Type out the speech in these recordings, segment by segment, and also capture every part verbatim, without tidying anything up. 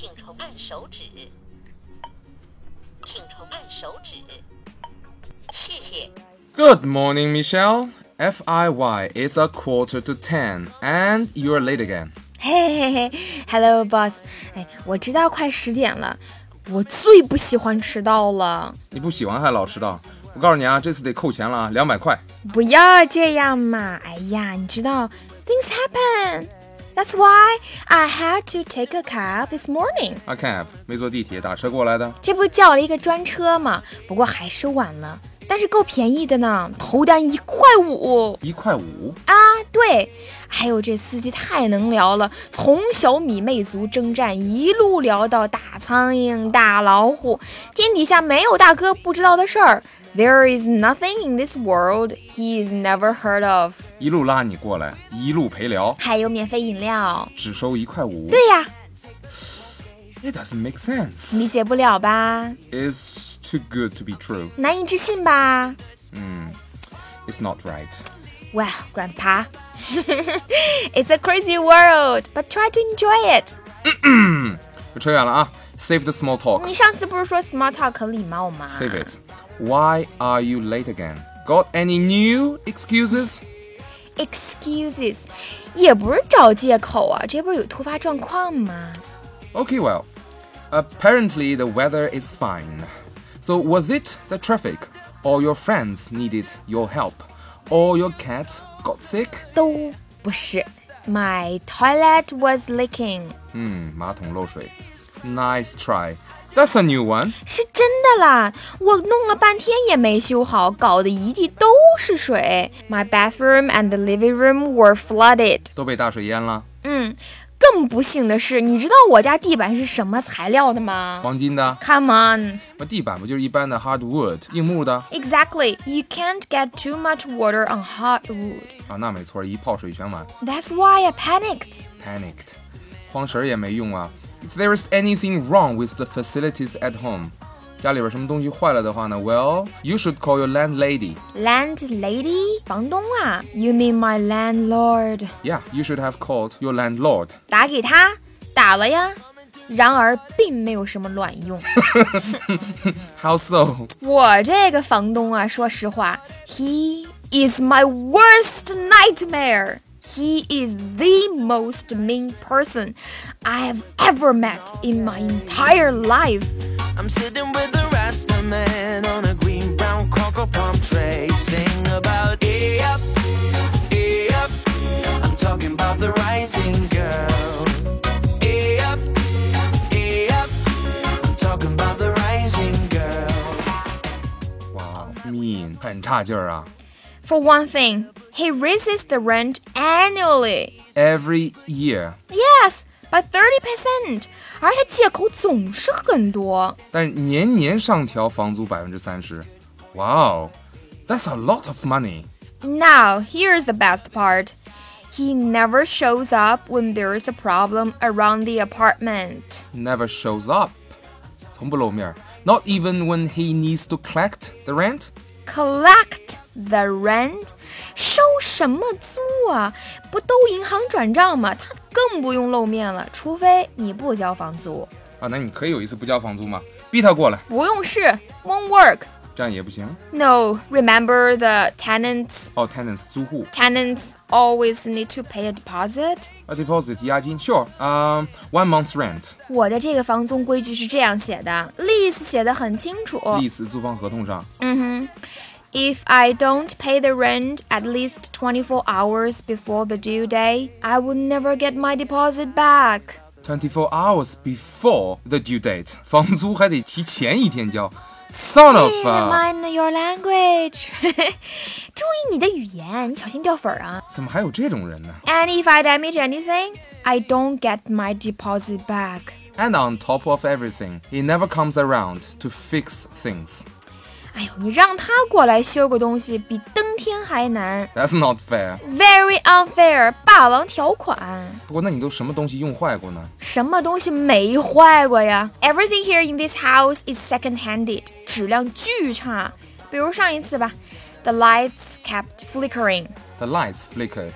请重按手指，请重按手指，谢谢。 Good morning, Michelle. F I Y, it's a quarter to ten, and you're late again. 嘿嘿嘿 ，Hello, boss. 哎，我知道快十点了，我最不喜欢迟到了。 你不喜欢还老迟到？我告诉你啊，这次得扣钱了啊，两百块。 不要这样嘛！哎呀，你知道 ，things happen.That's why I had to take a cab this morning. A cab 没坐地铁，打车过来的。 这不叫了一个专车吗？不过还是晚了，但是够便宜的呢，头单一块五。 一块五啊，对。还有这司机太能聊了，从小米魅族征战一路聊到大苍蝇、大老虎，天底下没有大哥不知道的事儿。There is nothing in this world he's never heard of. 一路拉你过来，一路陪聊， 还有免费饮料， 只收一块五。 对呀。 It doesn't make sense. 理解不了吧 It's too good to be true. 难以置信吧嗯 It's not right. Well, Grandpa, it's a crazy world, but try to enjoy it. 我扯远了啊 Save the small talk. 你上次不是说 small talk 很礼貌吗 Save it. Why are you late again? Got any new excuses? Excuses 也不是找借口啊，这不是有突发状况吗 Okay, well, apparently the weather is fine. So was it the traffic, or your friends needed your help, or your cat got sick? 都不是 My toilet was leaking. 嗯，马桶漏水。Nice try. That's a new one. 是真的啦，我弄了半天也没修好，搞得一地都是水。My bathroom and the living room were flooded. 都被大水淹了。 嗯，更不幸的是，你知道我家地板是什么材料的吗黄金的。 ？Come on. 那地板不就是一般的 hardwood 硬木的？ Exactly. You can't get too much water on hardwood. 啊，那没错，一泡水全完。 That's why I panicked. Panicked. 慌神儿也没用啊。If there is anything wrong with the facilities at home, 家里边什么东西坏了的话呢 Well, you should call your landlady. Landlady? 房东啊 You mean my landlord? Yeah, you should have called your landlord. 打给他，打了呀。然而并没有什么卵用。 How so? 我这个房东啊，说实话 He is my worst nightmare. He is the most mean person I have ever met in my entire life. I'm sitting with a Rasta man on a green brown cocoa palm tray, sing about A up, A up. I'm talking about the rising girl. A up, A up. I'm talking about the rising girl. 哇 mean 很差劲儿啊。 For one thing, he raises the rent annually. Every year. Yes, by thirty percent. 而且借口总是很多。 但是年年上调房租百分之三十。Wow, that's a lot of money. Now, here's the best part. He never shows up when there's a problem around the apartment. Never shows up. 从不露面。Not even when he needs to collect the rent? Collect the rent? 收什么租啊？不都银行转账吗？他更不用露面了，除非你不交房租。 啊，那你可以有一次不交房租吗？逼他过来。 不用试 won't work. 这样也不行。 No, remember the tenants? 哦 tenants 租户。 Tenants always need to pay a deposit. A deposit 押金 Sure, um, one month's rent. 我的这个房租规矩是这样写的 lease 写得很清楚 Lease 租房合同上。 嗯哼 If I don't pay the rent at least twenty-four hours before the due date, I will never get my deposit back. twenty-four hours before the due date. 房租还得提前一天交。Son of a... Mind your language. 注意你的语言，你小心掉粉啊。 怎么还有这种人呢？ And if I damage anything, I don't get my deposit back. And on top of everything, he never comes around to fix things. 哎呦，你让他过来修个东西，比登天还难。 That's not fair. Very unfair， 霸王条款。 不过那你都什么东西用坏过呢？ 什么东西没坏过呀 ？Everything here in this house is second-handed， 质量巨差。比如上一次吧 ，the lights kept flickering. The lights flickered.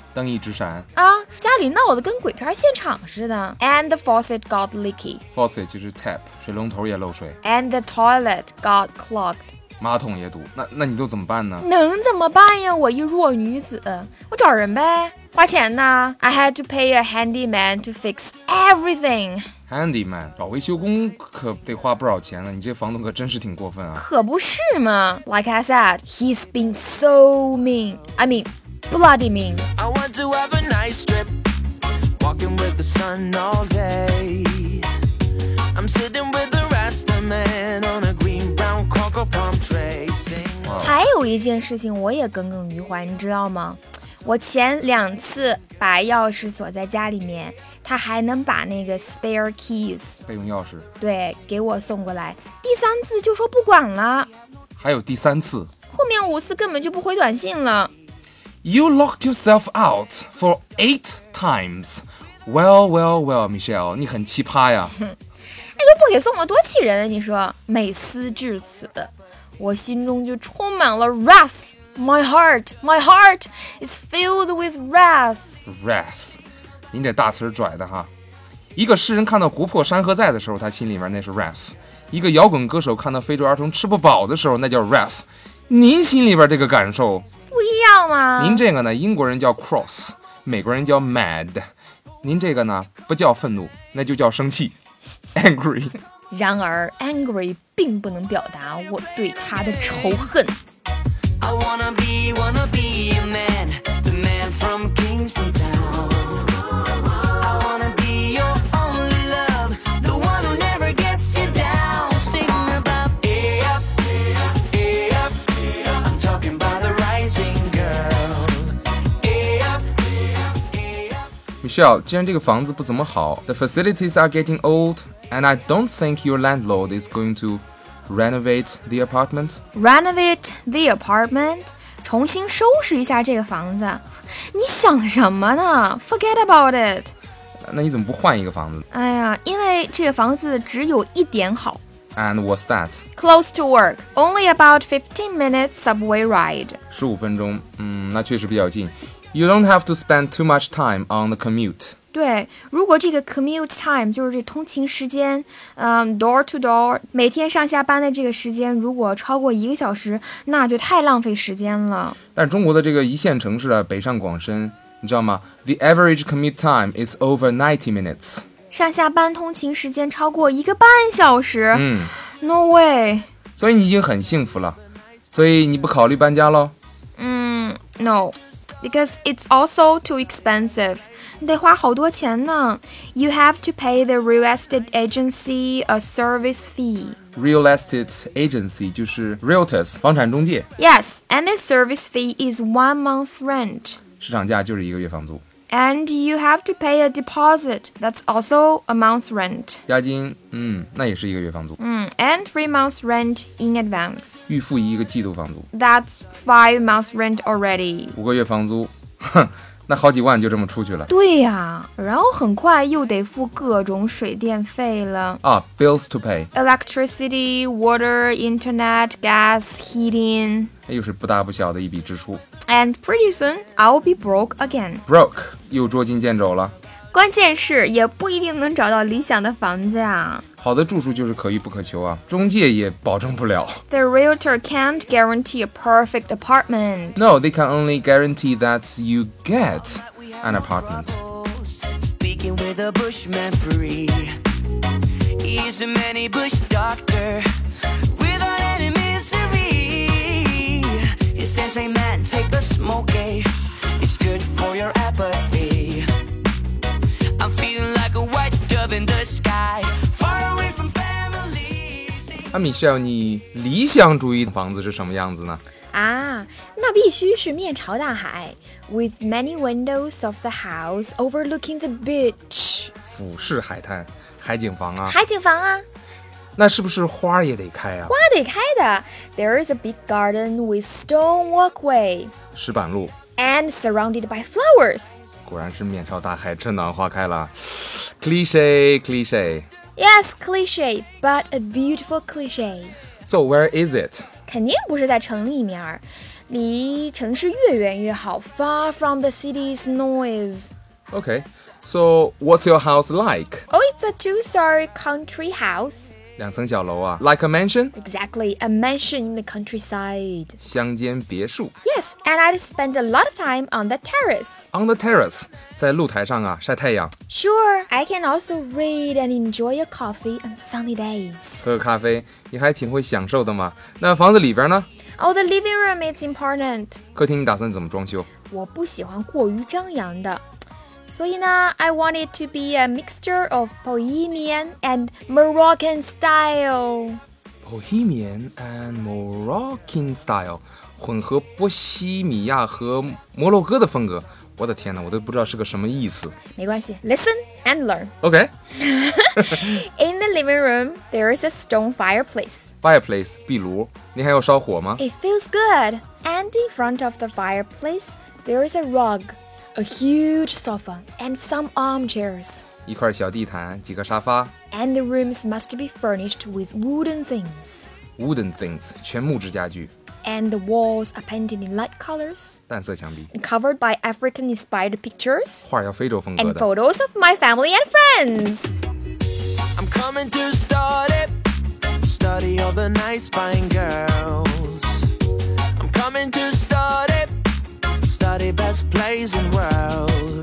灯一直闪。 啊，家里闹得跟鬼片现场似的。And the faucet got leaky. Faucet 就是 tap， 水龙头也漏水。 And the toilet got clogged. 马桶也堵。那那你都怎么办呢？ 能怎么办呀？我一弱女子，我找人呗，花钱呐。I had to pay a handyman to fix everything. Handyman 找维修工可得花不少钱呢，你这房东可真是挺过分啊。 可不是嘛 Like I said, he's been so mean. I mean, bloody mean. I want to have a nice trip, walking with the sun all day. I'm sitting with the Rasta man on a green brown cocoa palm tray. Sing. 还有一件事情我也耿耿于怀，你知道吗？我前两次把钥匙锁在家里面，他还能把那个 spare keys 备用钥匙。 对给我送过来。第三次就说不管了， 还有第三次， 后面五次根本就不回短信了。 You locked yourself out for eight times. Well, well, well, Michelle， 你很奇葩呀。 那就不给送了，多气人啊！你说，每思至此，我心中就充满了 wrath。My heart, my heart is filled with wrath. Wrath， 您这大词儿拽的哈。一个诗人看到国破山河在的时候，他心里面那是 wrath； 一个摇滚歌手看到非洲儿童吃不饱的时候，那叫 wrath。您心里边这个感受不一样吗？ 您这个呢，英国人叫 cross， 美国人叫 mad。您这个呢，不叫愤怒，那就叫生气 ，angry。 然而 ，angry 并不能表达我对他的仇恨。 I wanna be, wanna be a man, the man from Kingston Town. I wanna be your only love, the one who never gets you down. Sing about A up, A up, I'm talking about the rising girl. A up, A up. Michelle， 既然这个房子不怎么好 ，the facilities are getting old, and I don't think your landlord is going to renovate the apartment. Renovate the apartment， 重新收拾一下这个房子。你想什么呢 ？Forget about it。 那你怎么不换一个房子？ 哎呀，因为这个房子只有一点好。 And what's that? Close to work, only about fifteen minutes subway ride. 十五分钟，嗯，那确实比较近。You don't have to spend too much time on the commute. 对，如果这个 commute time 就是这通勤时间，嗯 ，door to door， 每天上下班的这个时间，如果超过一个小时，那就太浪费时间了。 但中国的这个一线城市啊，北上广深，你知道吗 ？The average commute time is over ninety minutes. 上下班通勤时间超过一个半小时， 嗯 ，No way。 所以你已经很幸福了，所以你不考虑搬家咯？ 嗯 ，No。Because it's also too expensive. 你得花好多钱呢。You have to pay the real estate agency a service fee. Real estate agency 就是 realtors 房产中介， Yes, and the service fee is one month rent. 市场价就是一个月房租， And you have to pay a deposit. That's also a month's rent. 押金，嗯，那也是一个月房租， 嗯 and three months rent in advance. 预付一个季度房租， That's five months rent already. 五个月房租，哼，那好几万就这么出去了。 对呀，然后很快又得付各种水电费了。 啊 ，bills to pay， Electricity, water, internet, gas, heating. 又是不大不小的一笔支出。 And pretty soon, I'll be broke again. Broke 又捉襟见肘了。 关键是也不一定能找到理想的房子啊。 好的住处就是可遇不可求啊，中介也保证不了。 The realtor can't guarantee a perfect apartment. No, they can only guarantee that you get an apartment. Speaking with a bushman free. He's a many bush doctor without any misery. He says, hey man, take a smoke, eh? It's good for your apathy. I'm feeling like a white dove in the sky, far away from family. 啊 ，Michelle， 你理想主义的房子是什么样子呢？ 啊，那必须是面朝大海 ，with many windows of the house overlooking the beach. 俯视海滩，海景房啊。 海景房啊， 那是不是花也得开啊？ 花得开的。There is a big garden with stone walkway 石板路， and surrounded by flowers. 果然是面朝大海，春暖花开了。Cliche, cliche. Yes, cliché, but a beautiful cliché. So where is it? 肯定不是在城里面， 离城市越远越好 ，far from the city's noise. Okay, so what's your house like? Oh, it's a two-story country house. 两层小楼啊 Like a mansion? Exactly, a mansion in the countryside. 乡间别墅 Yes, and I'd spend a lot of time on the terrace. On the terrace, 在露台上啊晒太阳 Sure, I can also read and enjoy a coffee on sunny days. 喝个咖啡也还挺会享受的嘛。那房子里边呢？ Oh, the living room is important. 客厅你打算怎么装修？ 我不喜欢过于张扬的。所以呢 I want it to be a mixture of Bohemian and Moroccan style. Bohemian and Moroccan style 混合波西米亚和摩洛哥的风格。我的天哪，我都不知道是个什么意思。 没关系 Listen and learn. OK In the living room, there is a stone fireplace. Fireplace 壁炉，你还要烧火吗？ It feels good. And in front of the fireplace, there is a rug.A huge sofa and some armchairs. 一块小地毯，几个沙发 And the rooms must be furnished with wooden things. Wooden things 全木质家具， And the walls are painted in light colors. 淡色墙壁， And covered by African-inspired pictures. 画要非洲风格 And 的。 photos of my family and friends. I'm coming to start it. Study all the nice fine girls. I'm coming to start it.Study best plays in world.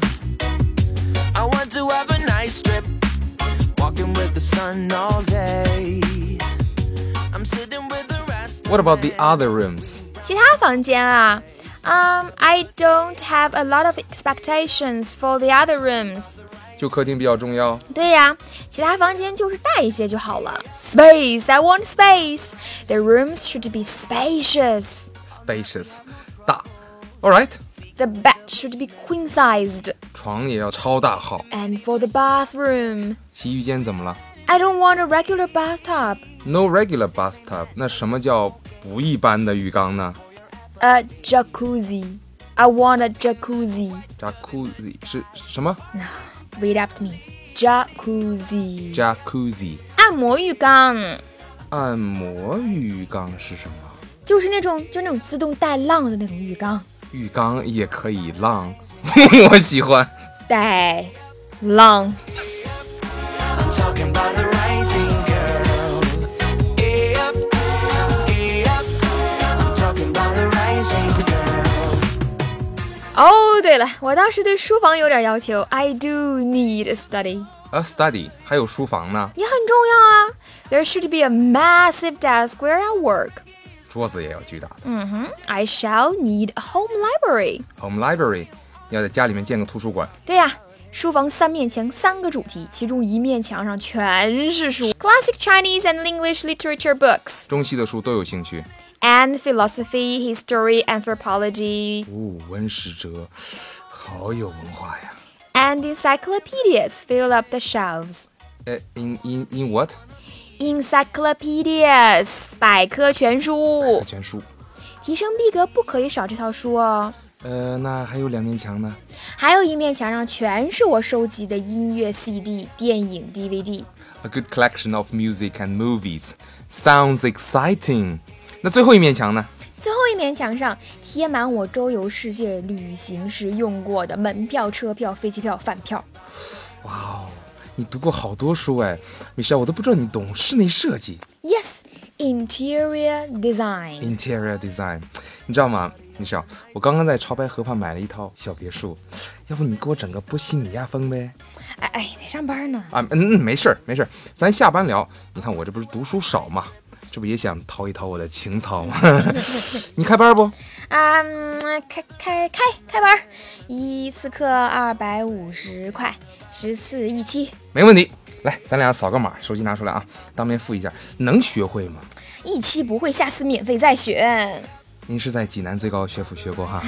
I want to have a nice trip, walking with the sun all day. I'm sitting with the rest. What about the other rooms? 其他房间啊 Um, I don't have a lot of expectations for the other rooms. 就客厅比较重要。 对呀，其他房间就是大一些就好了。Space, I want space. The rooms should be spacious. Spacious 大 Alright The bed should be queen-sized. 床也要超大号。 And for the bathroom, 洗浴间怎么了 I don't want a regular bathtub. No regular bathtub 那什么叫不一般的浴缸呢 A jacuzzi. I want a jacuzzi. Jacuzzi 是什么 Read after me. Jacuzzi. Jacuzzi 按摩浴缸， 按摩浴缸是什么就是那种就那种自动带浪的那种浴缸。 浴缸也可以浪我喜欢带浪 I'm talking about the rising girl. Hey up, hey up. I'm talking about the rising girl. 哦，对了，我倒是对书房有点要求。I do need a study. A study 还有书房呢也很重要啊。There should be a massive desk where I work. 桌子也要巨大的嗯哼 I shall need a home library. Home library 要在家里面建个图书馆对呀、啊，书房三面墙三个主题，其中一面墙上全是书 Classic Chinese and English literature books. 中西的书都有兴趣 And philosophy, history, anthropology. 哦，文史哲好有文化呀 And encyclopedias fill up the shelves. 呃 in, in, in what? Encyclopedias 百科全书， 全书提升逼格不可以少这套书哦。 呃，那还有两面墙呢还有一面墙上全是我收集的音乐 C D、电影 D V D。 A good collection of music and movies. Sounds exciting. 那最后一面墙呢最后一面墙上贴满我周游世界旅行时用过的门票、车票、飞机票、饭票。 哇哦，你读过好多书哎 Michelle 我都不知道你懂室内设计 Yes, interior design. Interior design 你知道吗Michelle 我刚刚在潮白河畔买了一套小别墅要不你给我整个波西米亚风呗哎哎，得上班呢。 啊嗯嗯没事儿没事儿咱下班聊你看我这不是读书少嘛这不也想掏一掏我的情操吗你开班不啊、嗯，开开开开班，一次课二百五十块，十次一期。 没问题来咱俩扫个码手机拿出来啊当面付一下能学会吗一期不会，下次免费再学。 您是在济南最高学府学过哈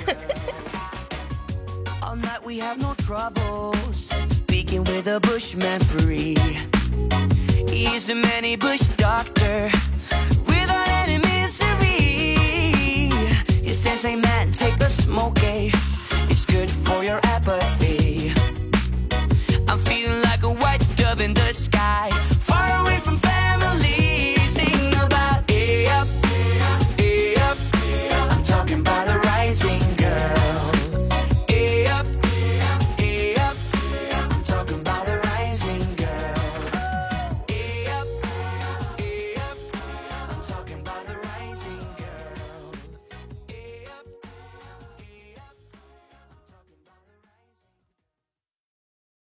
All night we have no troubles. Speaking with a bushman free. He's a many bush doctor without any misery. He says, hey man, take a smoke, eh? It's good for your apathy. I'm feeling like a white dove in the sky.